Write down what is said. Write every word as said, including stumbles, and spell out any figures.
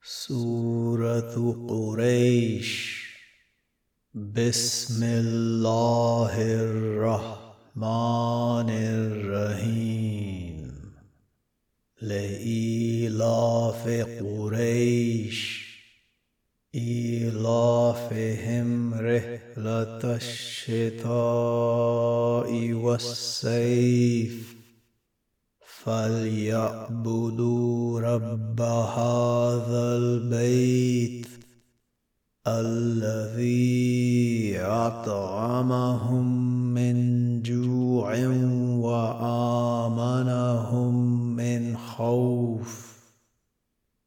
سورة قريش. بسم الله الرحمن الرحيم. لإيلاف قريش إيلافهم رحلة الشتاء والصيف فليعبدوا رب هذا البيت الذي أطعمهم من جوع وآمنهم من خوف.